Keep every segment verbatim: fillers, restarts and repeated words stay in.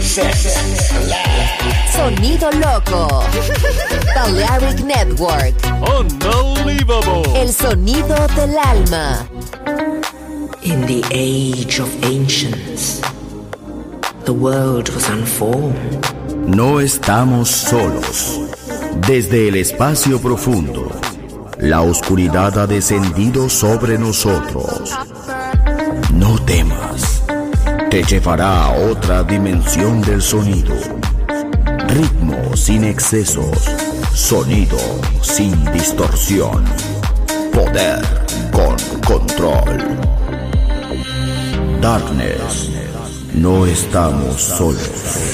Sonido loco. Balearic Network. Unbelievable. El sonido del alma. In the age of ancients, the world was unformed. No estamos solos. Desde el espacio profundo, la oscuridad ha descendido sobre nosotros. No temas. Te llevará a otra dimensión del sonido. Ritmo sin excesos. Sonido sin distorsión. Poder con control. Darkness. No estamos solos.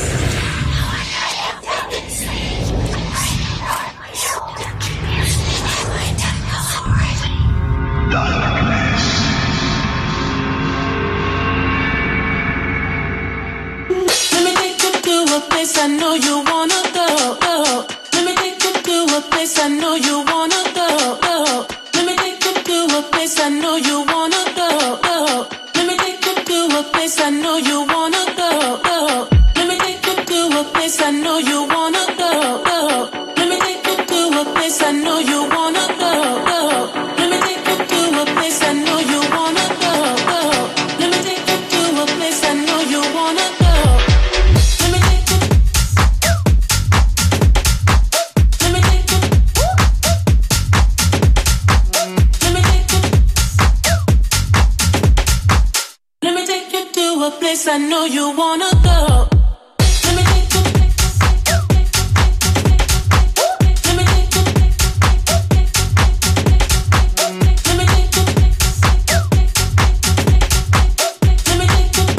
I know you wanna go, go. Let me take you to a place I know you wanna go, go. Let me take you to a place I know you wanna go, go. Let me take you to a place I know you wanna go, go. Let me take you to a place I know you wanna go, go. Let me take you to a place I know you wanna go, go. Let me take you to a place I know you wanna go, go. Let me take you to a place I know you wanna go. Place I know you wanna go. Let me take you. Let me take you. Let me take you. Let me take you.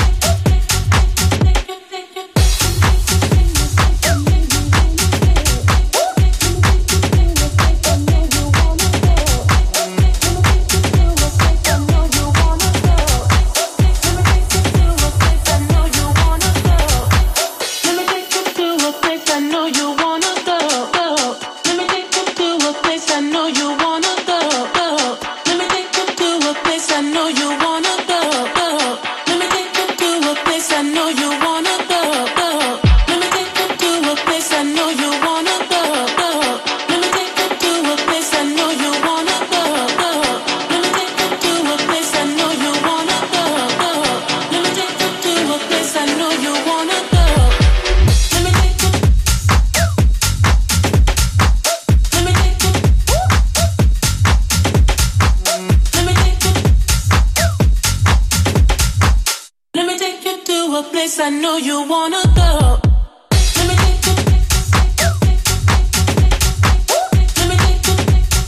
I know you wanna go. Let me take you. Let me take you.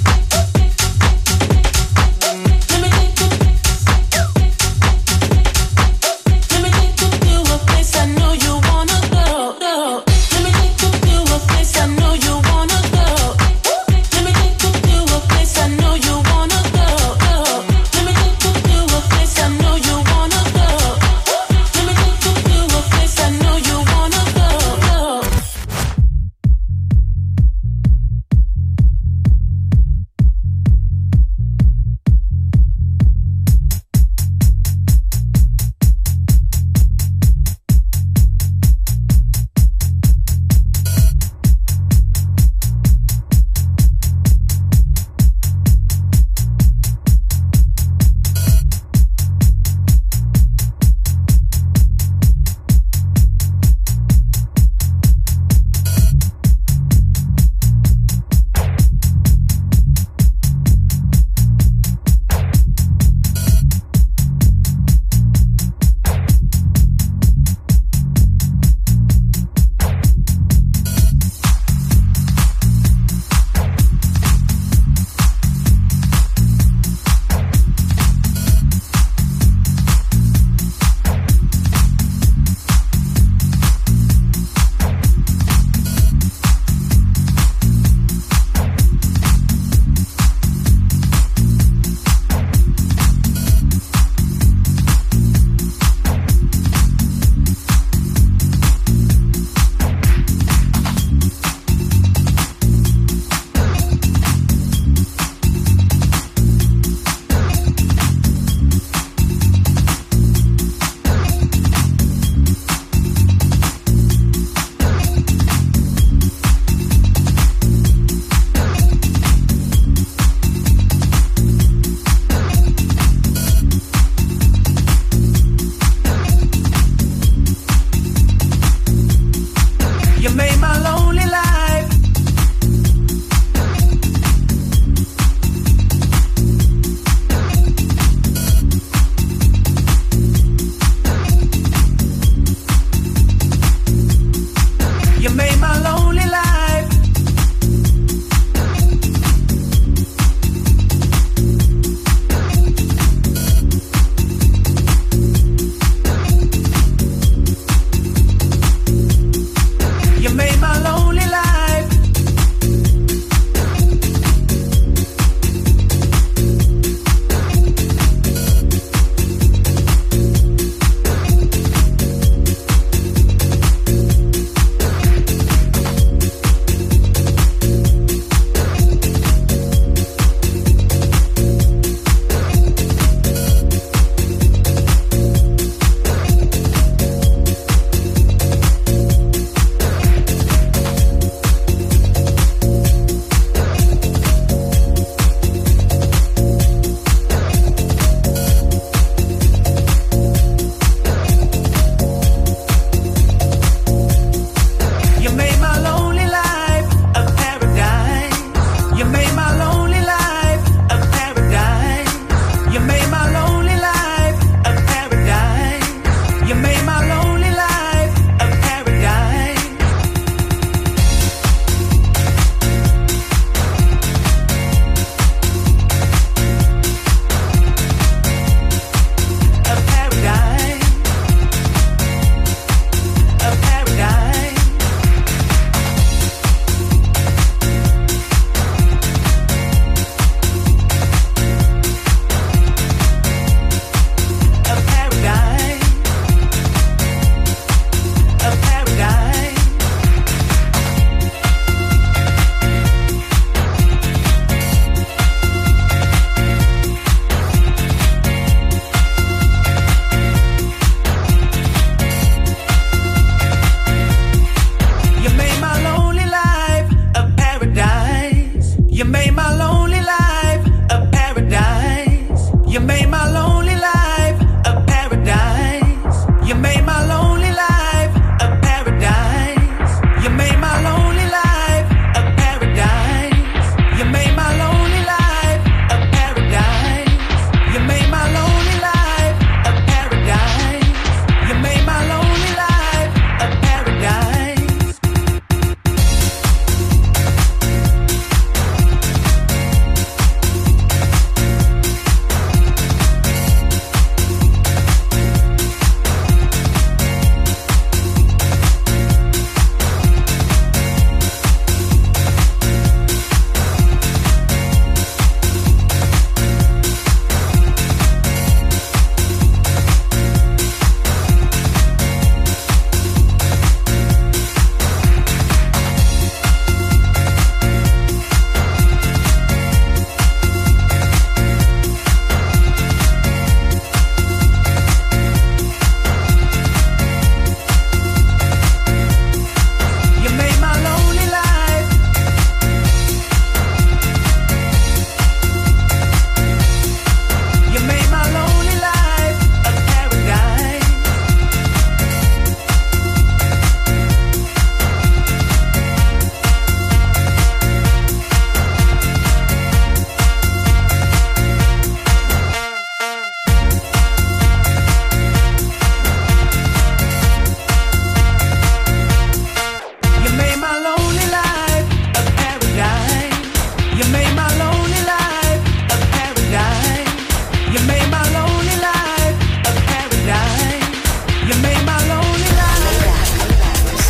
Let me take you. Let me take you to a place I know you wanna go, go. Let me take you to a place I know you wanna go. Let me take you to a place I know you wanna go, go. Let me take you to a place I know you wanna go. Let me take you to a place I know you wanna go.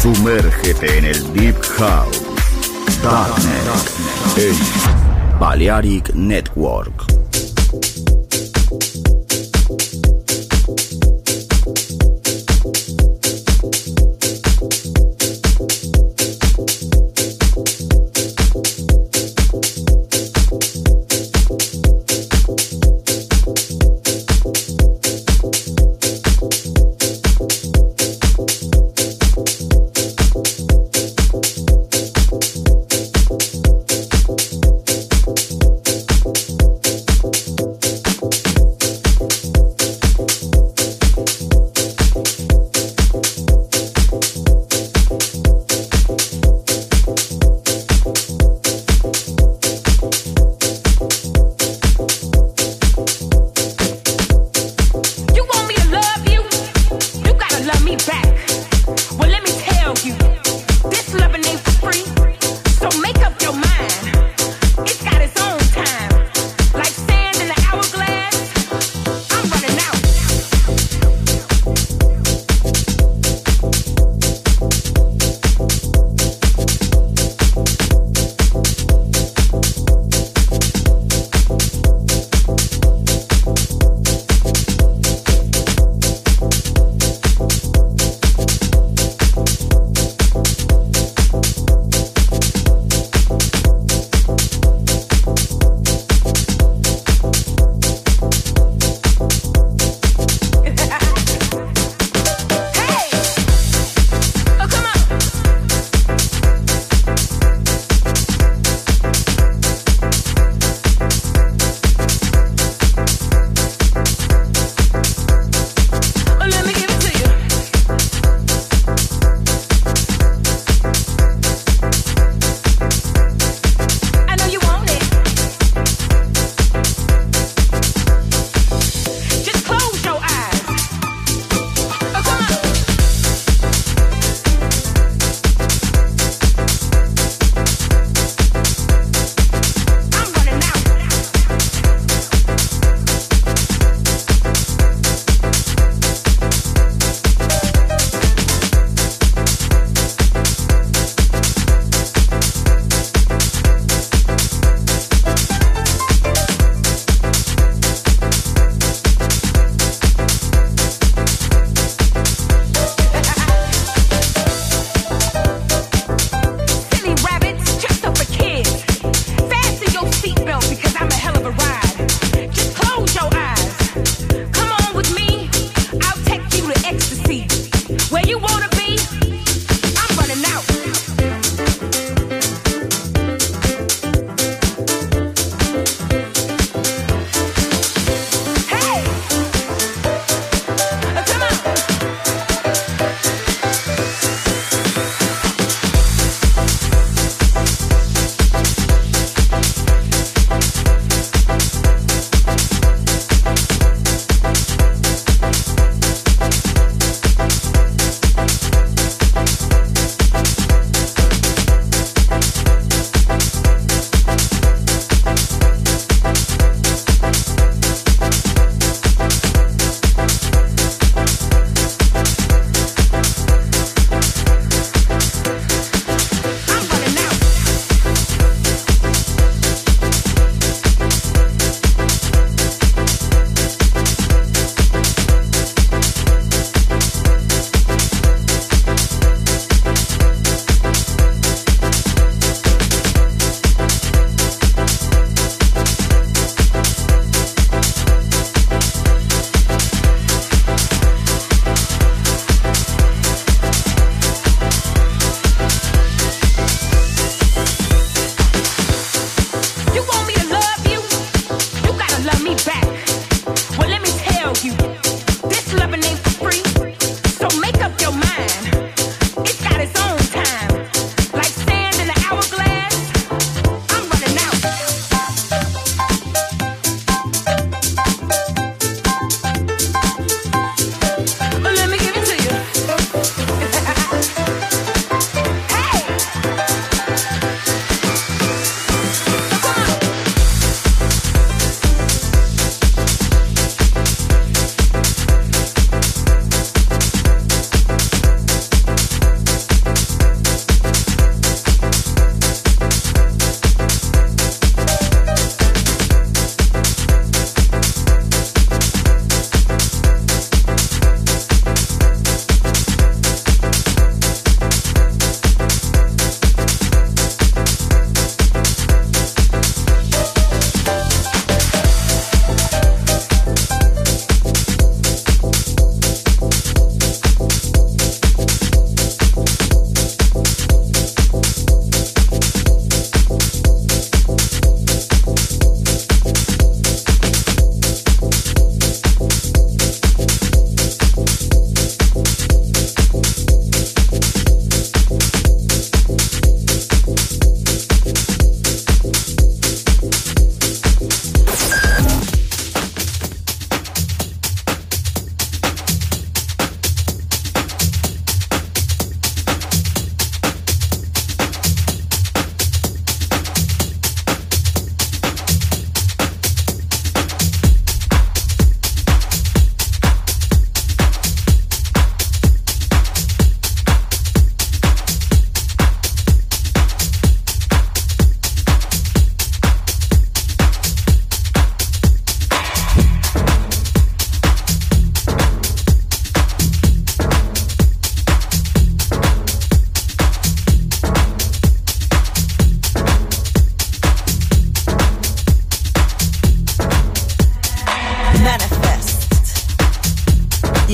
Sumérgete en el Deep House. Darknet en Balearic Network.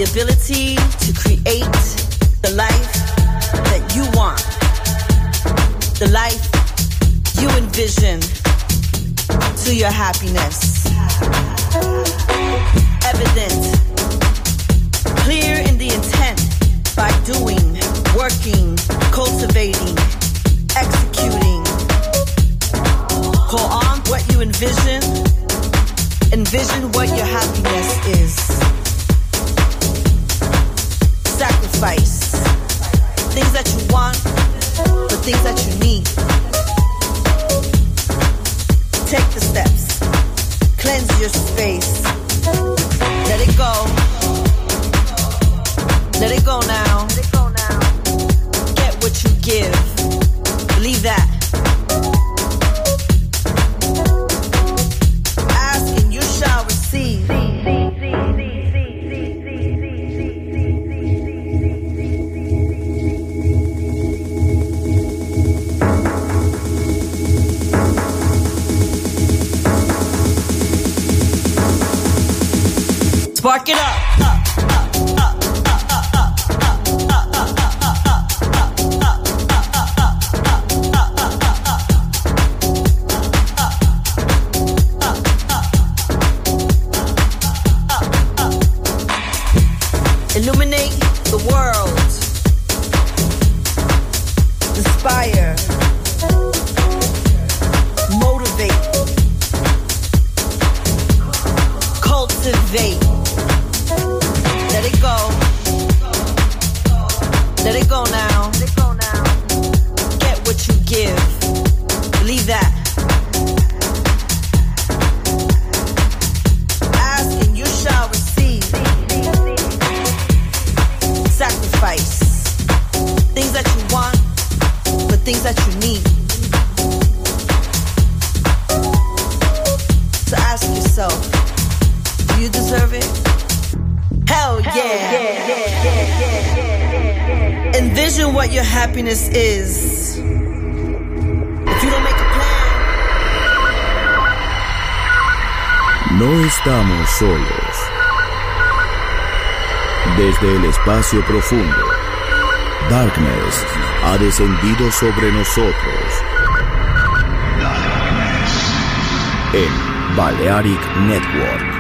ability to create the life that you want, the life you envision to your happiness. Evident, clear in the intent by doing, working, cultivating, executing. Call on what you envision. Envision what your happiness is. Sacrifice things that you want for things that you need. Take the steps. Cleanse your space. Let it go. Let it go now. Get what you give. Believe that. Ask and you shall receive. Spark it up. Illuminate the world. Inspire. Motivate. Cultivate. Let it go. Let it go now. Get what you give. Believe that. Ask and you shall receive. Sacrifice things that you want for things that you need. So ask yourself, do you deserve it? Hell yeah. Hell yeah, yeah, yeah, yeah, yeah, yeah. Envision what your happiness is. If you don't make a plan. No estamos solos. Desde el espacio profundo, Darkness ha descendido sobre nosotros. En Balearic Network.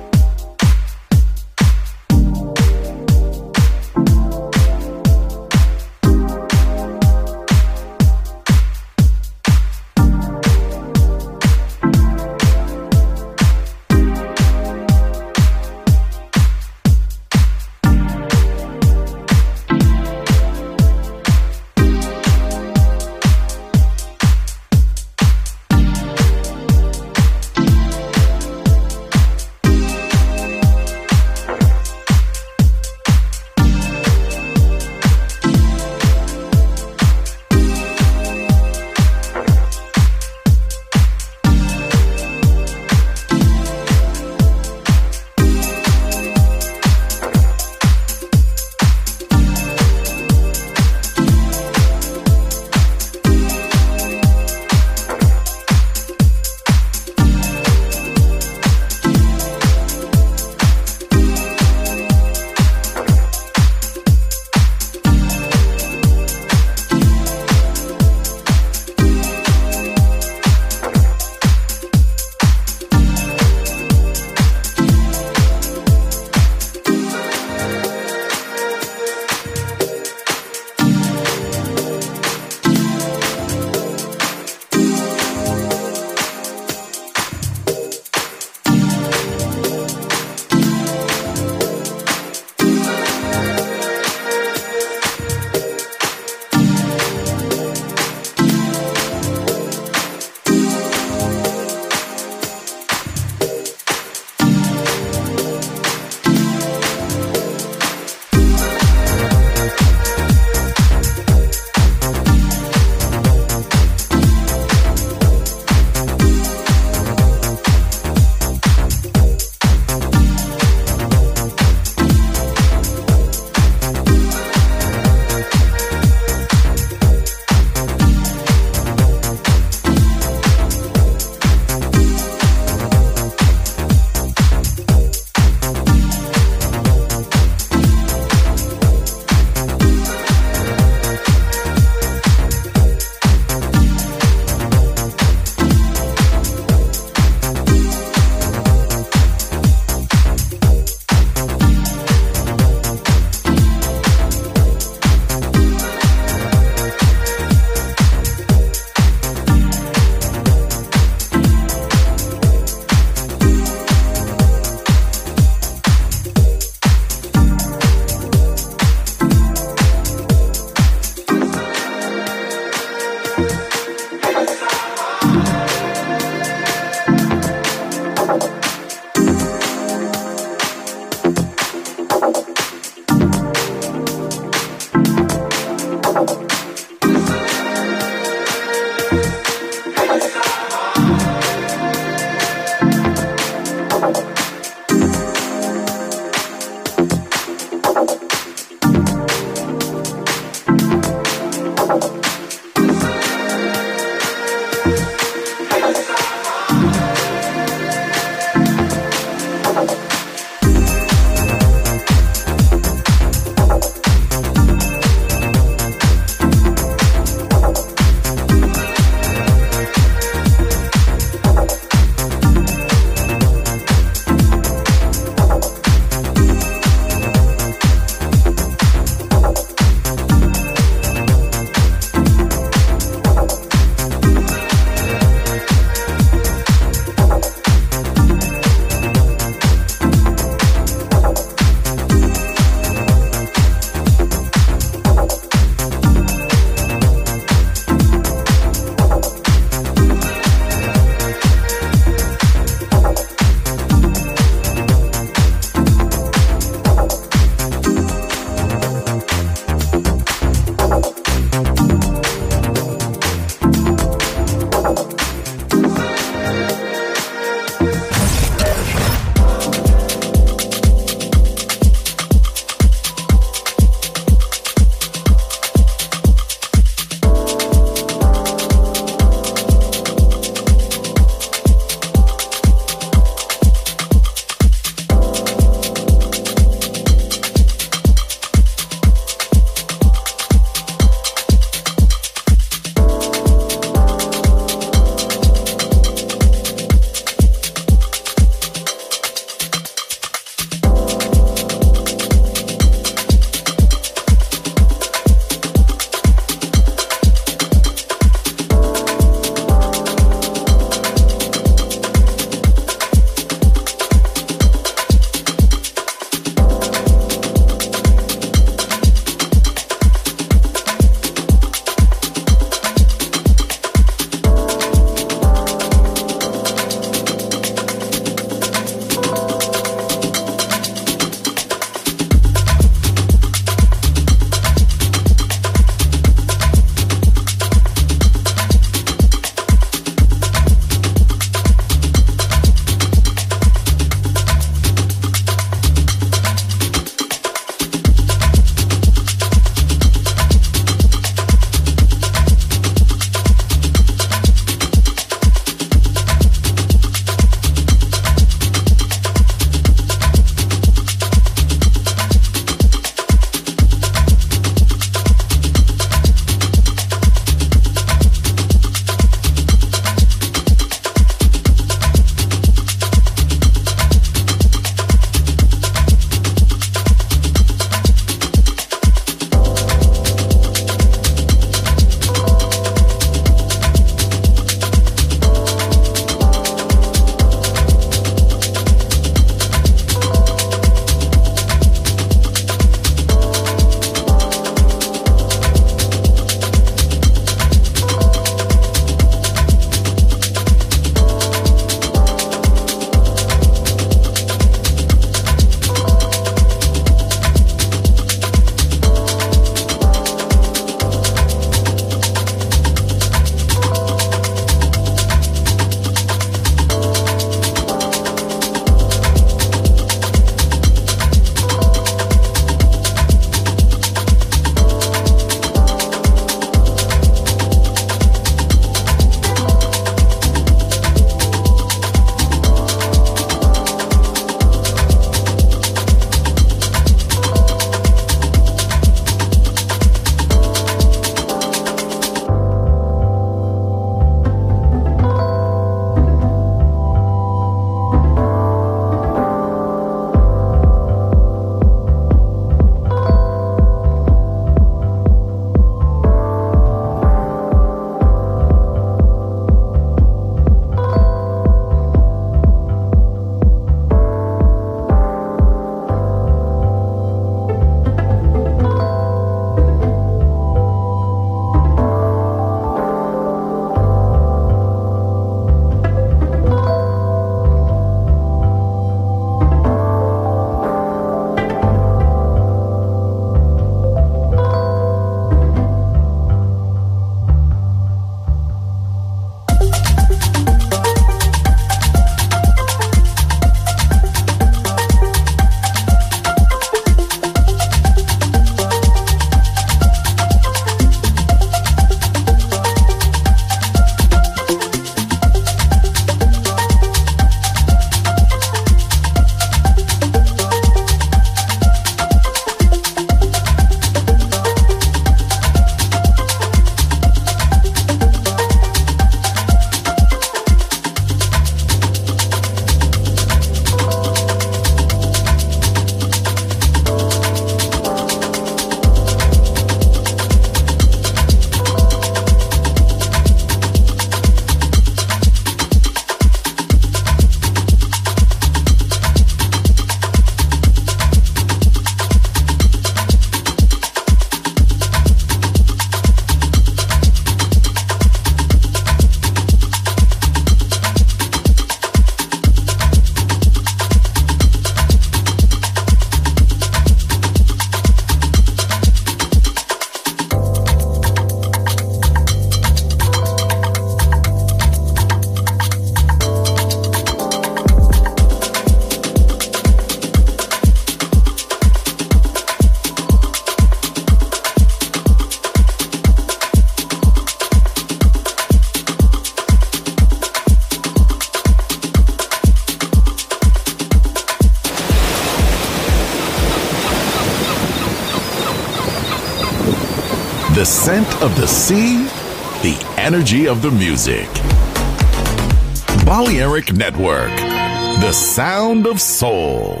The scent of the sea, the energy of the music. Balearic Network, the sound of soul.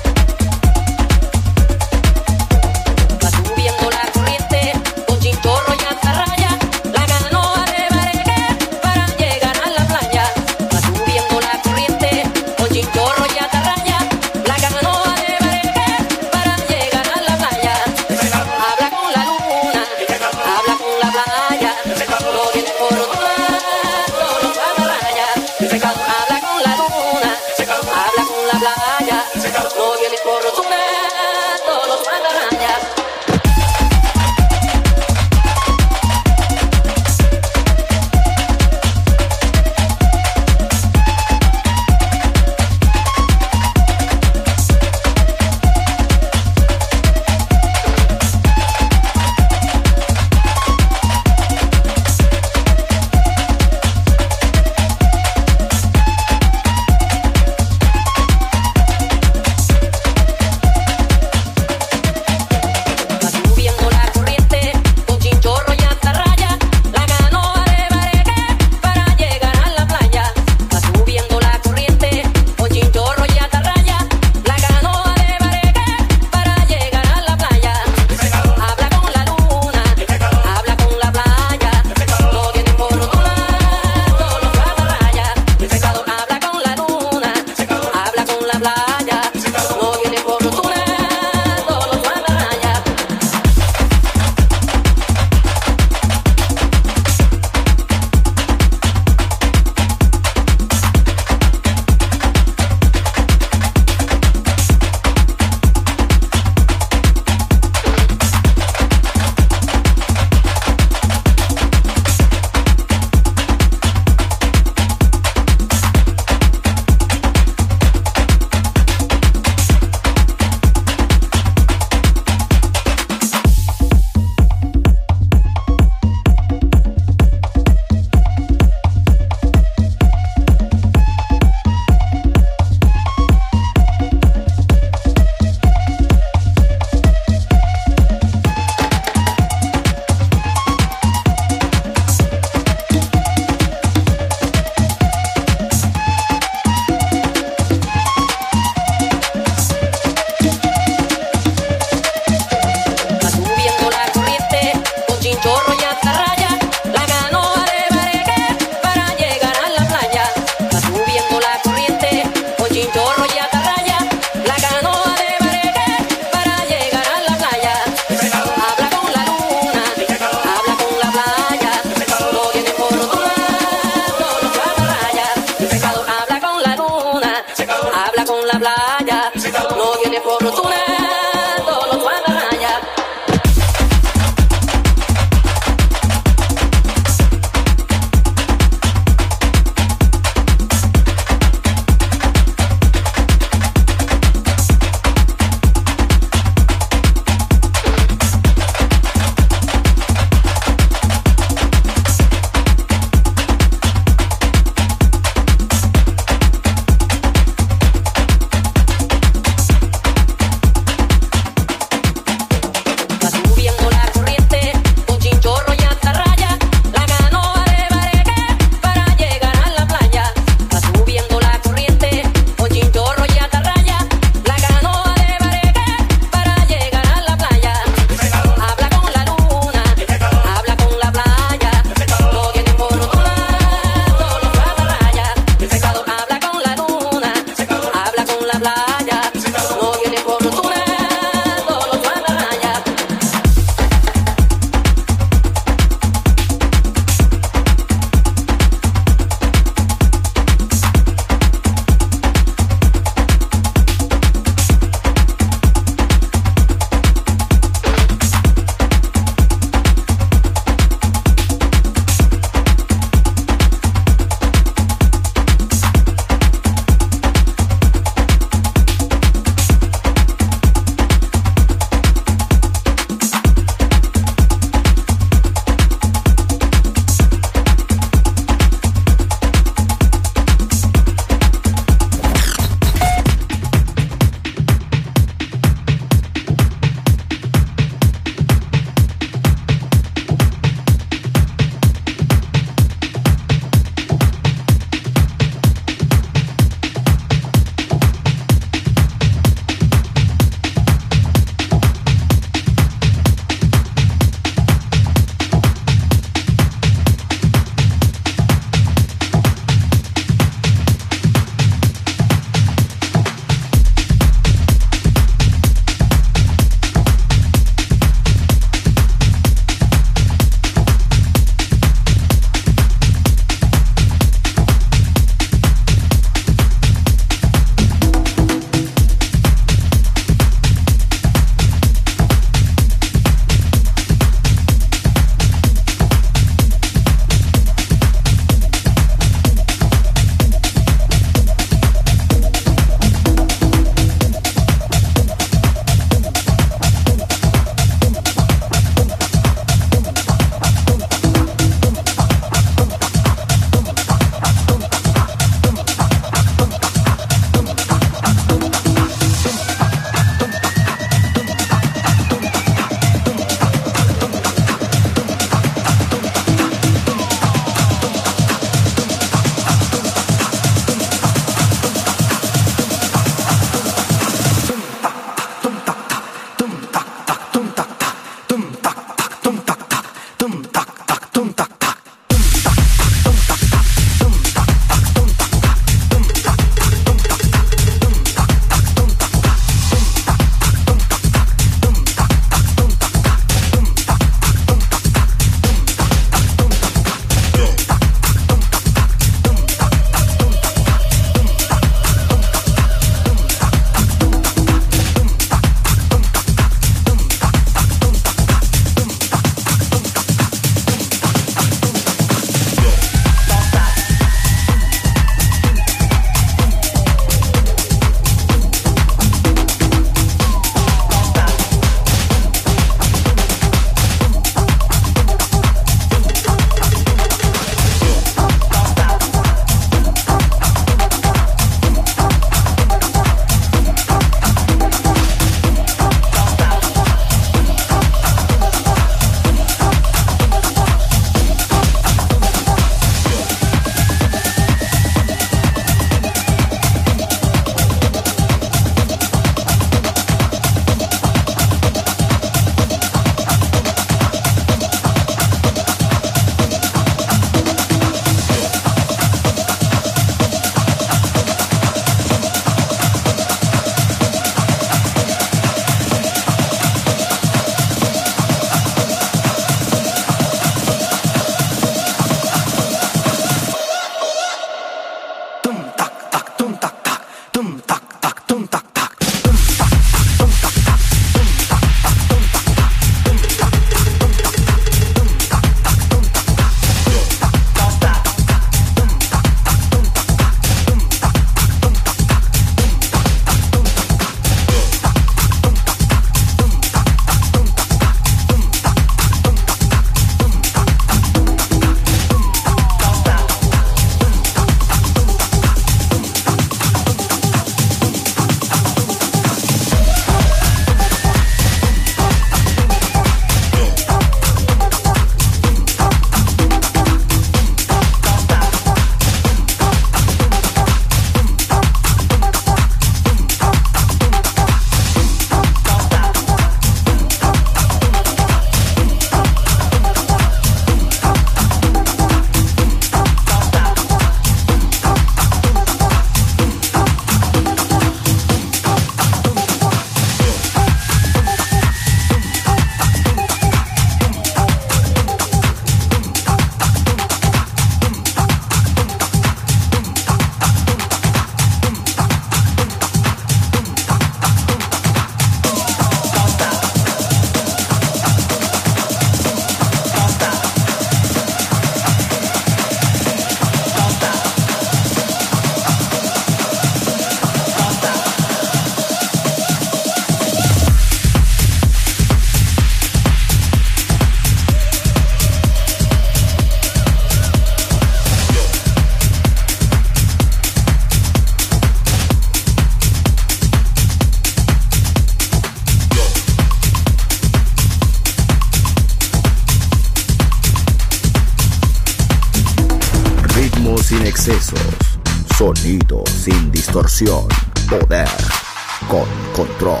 sin excesos, sonido sin distorsión, poder con control.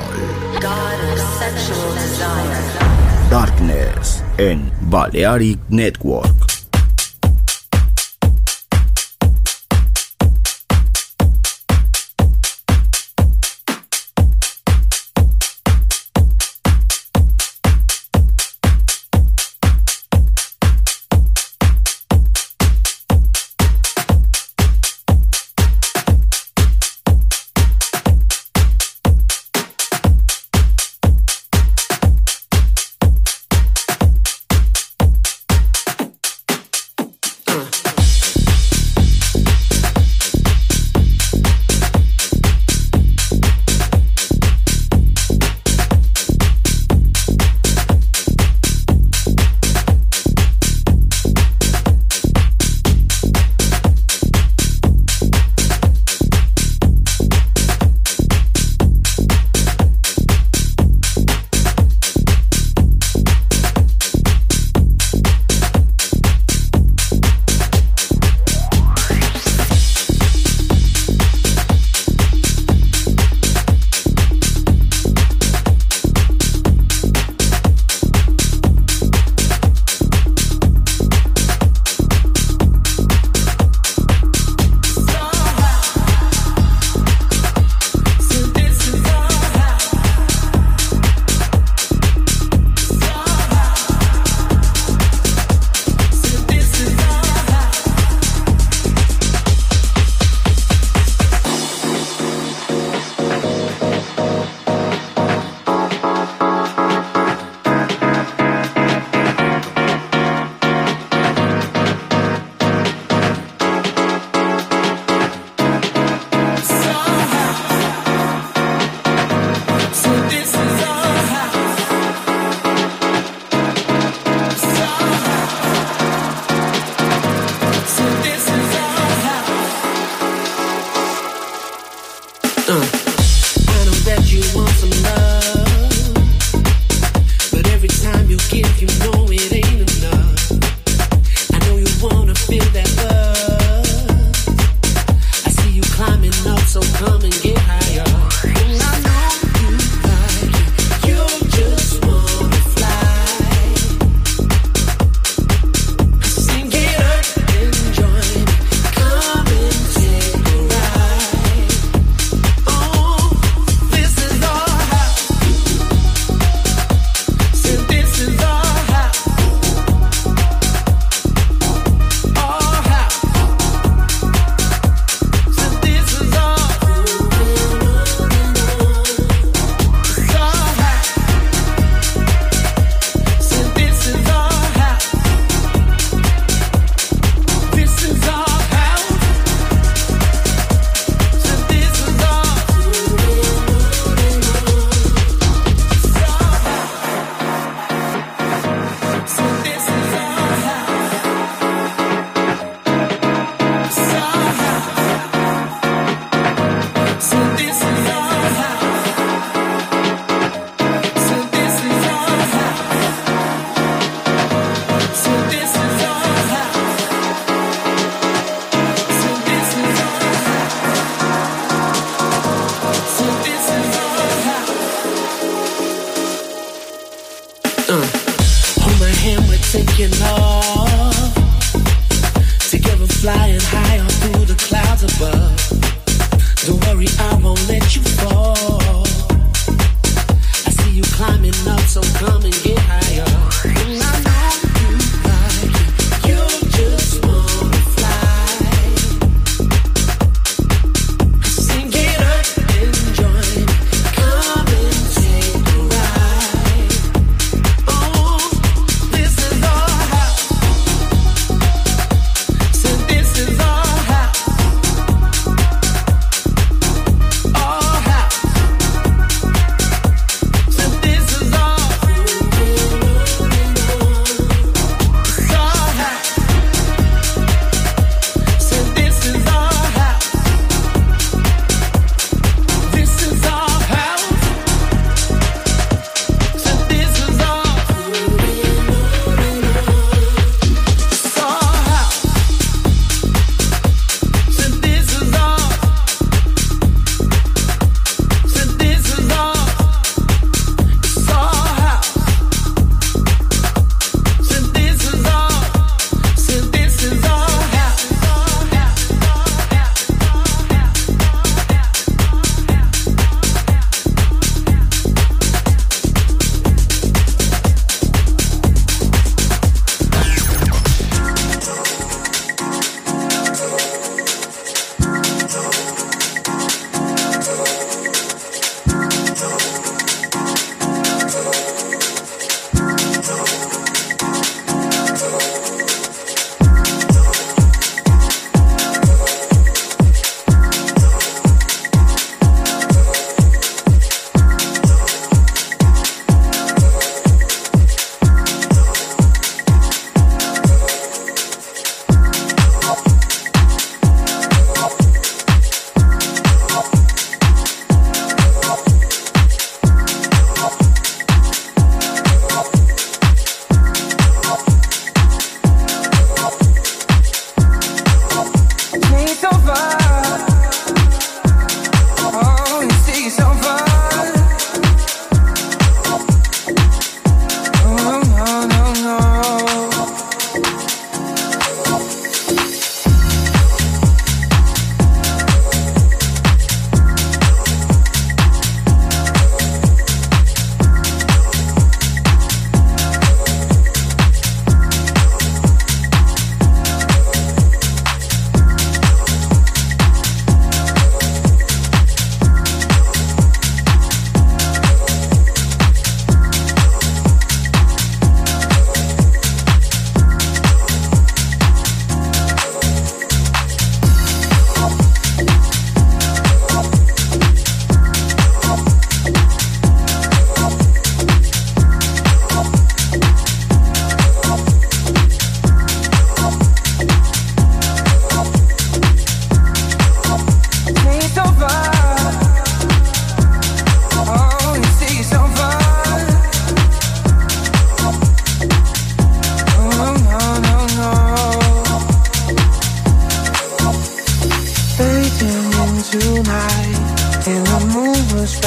Darkness en Balearic Network.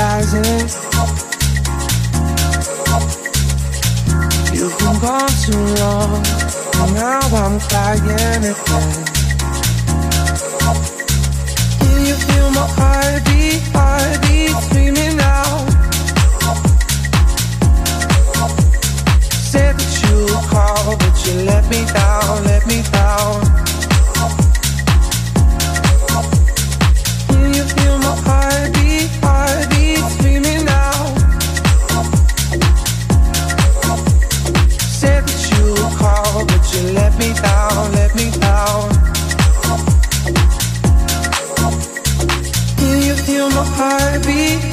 disguises. You've been gone too long, and now I'm crying again. Can you feel my heartbeat, heartbeat screaming out? Said that you would call, but you let me down, let me down. Can you feel my heartbeat, heartbeat screaming out? Said that you would call, but you let me down, let me down. Can you feel my heartbeat?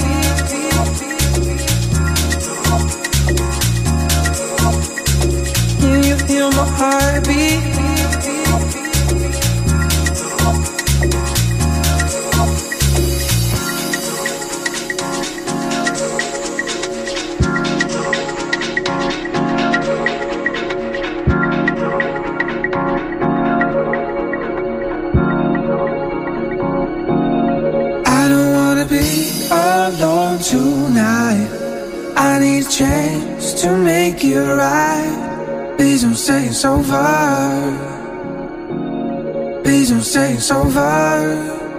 Can you feel my heartbeat? I don't wanna be alone tonight. I need a chance to make it right. Please don't say it's over. Please don't say it's over.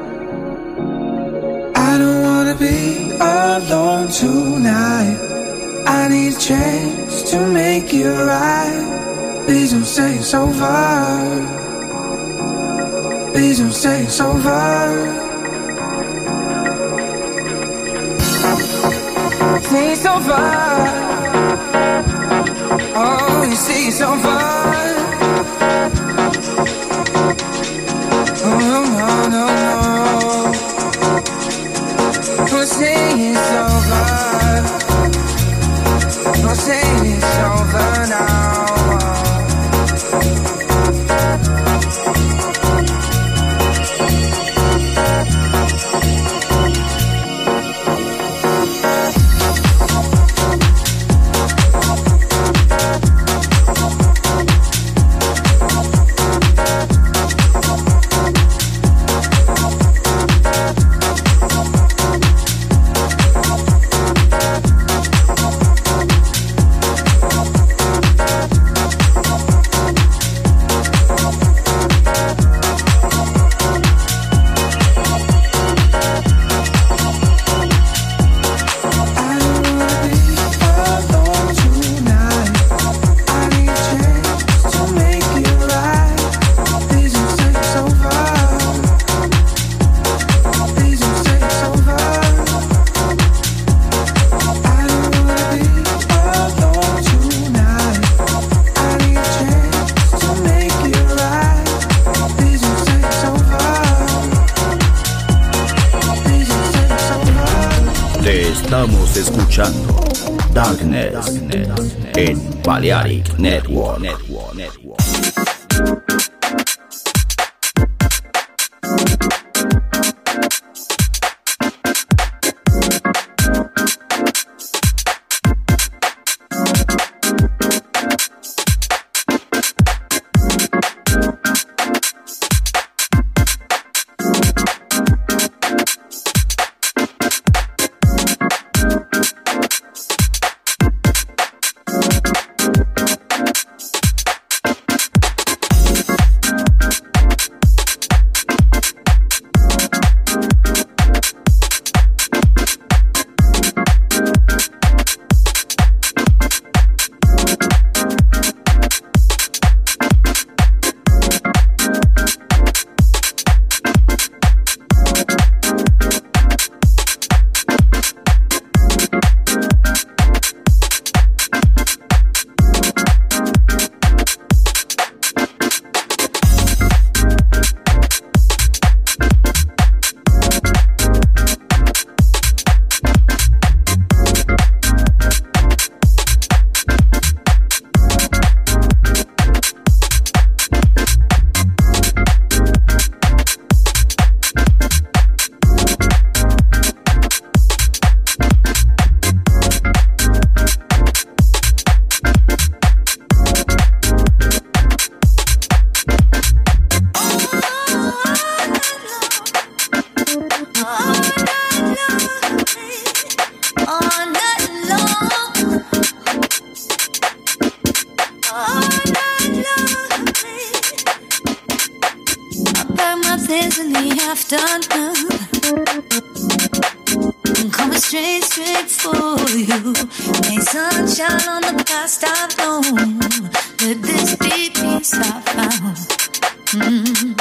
I don't wanna be alone tonight. I need a chance to make it right. Please don't say it's over. Please don't say it's over. Say it's over. Oh, you say it's over. Oh, no, no, no, no. Don't say it's over. Don't say it's over now. Estamos escuchando Darkness, Darkness en Balearic Network. Network, Network. things in the afternoon. I'm coming straight, straight for you. Ain't sunshine on the past I've known. Let this be peace I found. Mm-hmm.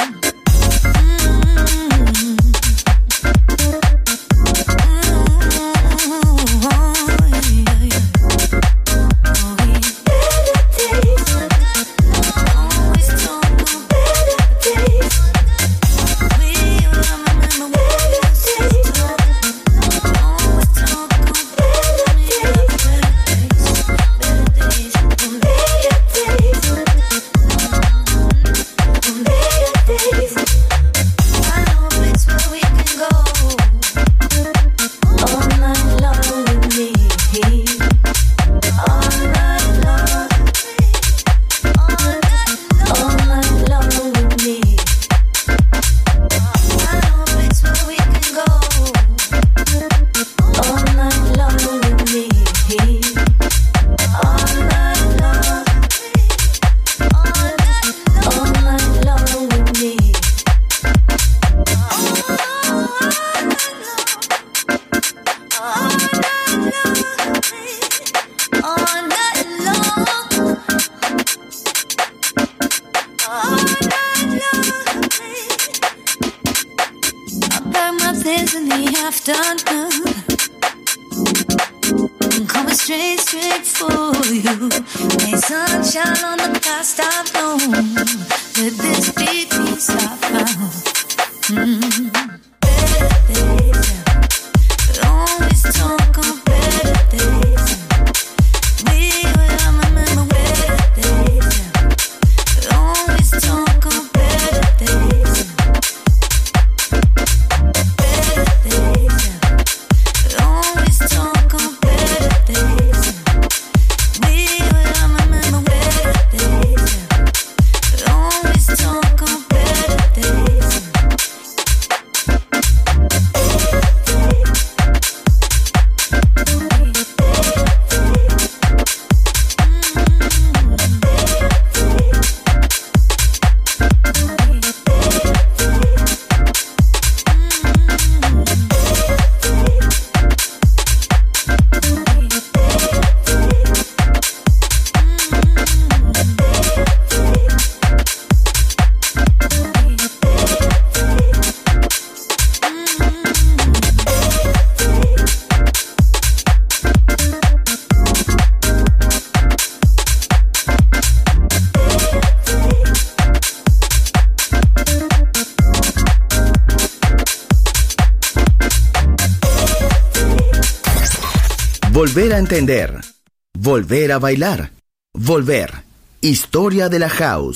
Volver a entender, volver a bailar, volver, historia de la house.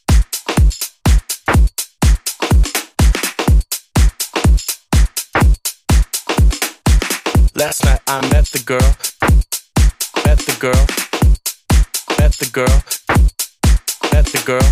Last night I met the girl, met the girl, met the girl, met the girl.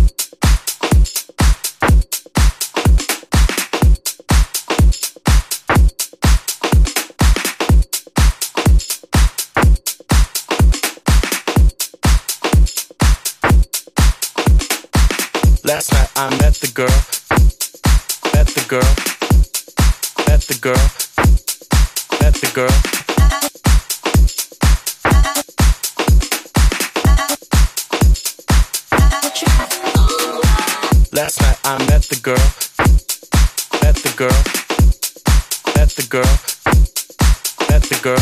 Last night I met the girl, met the girl, met the girl, met the girl. Last night I met the girl, met the girl, met the girl, met the girl.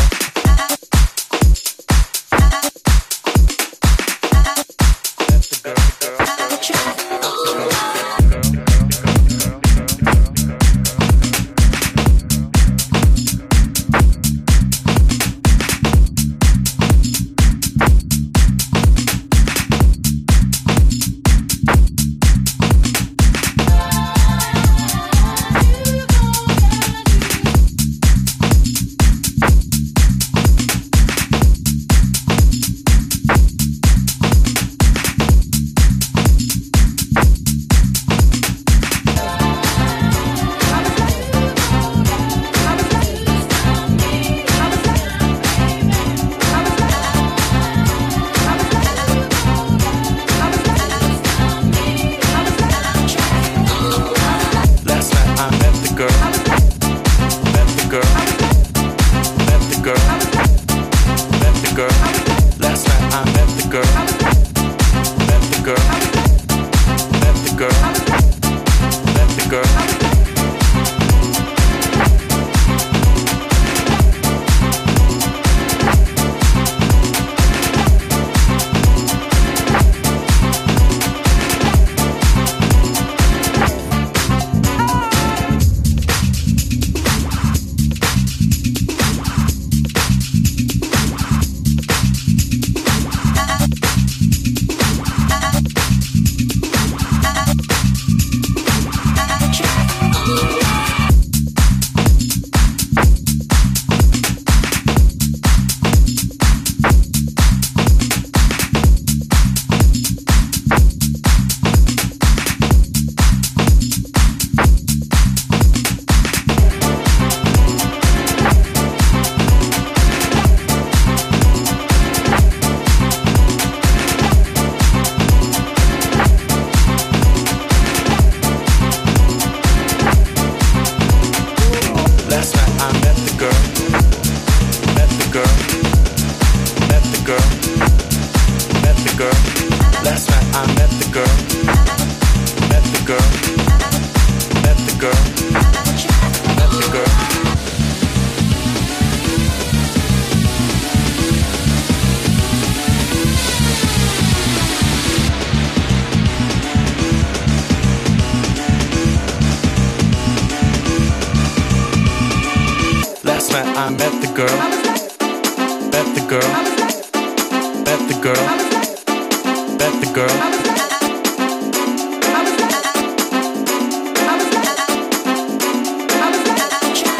the girl. I met the girl, met the girl, met the girl, met the girl.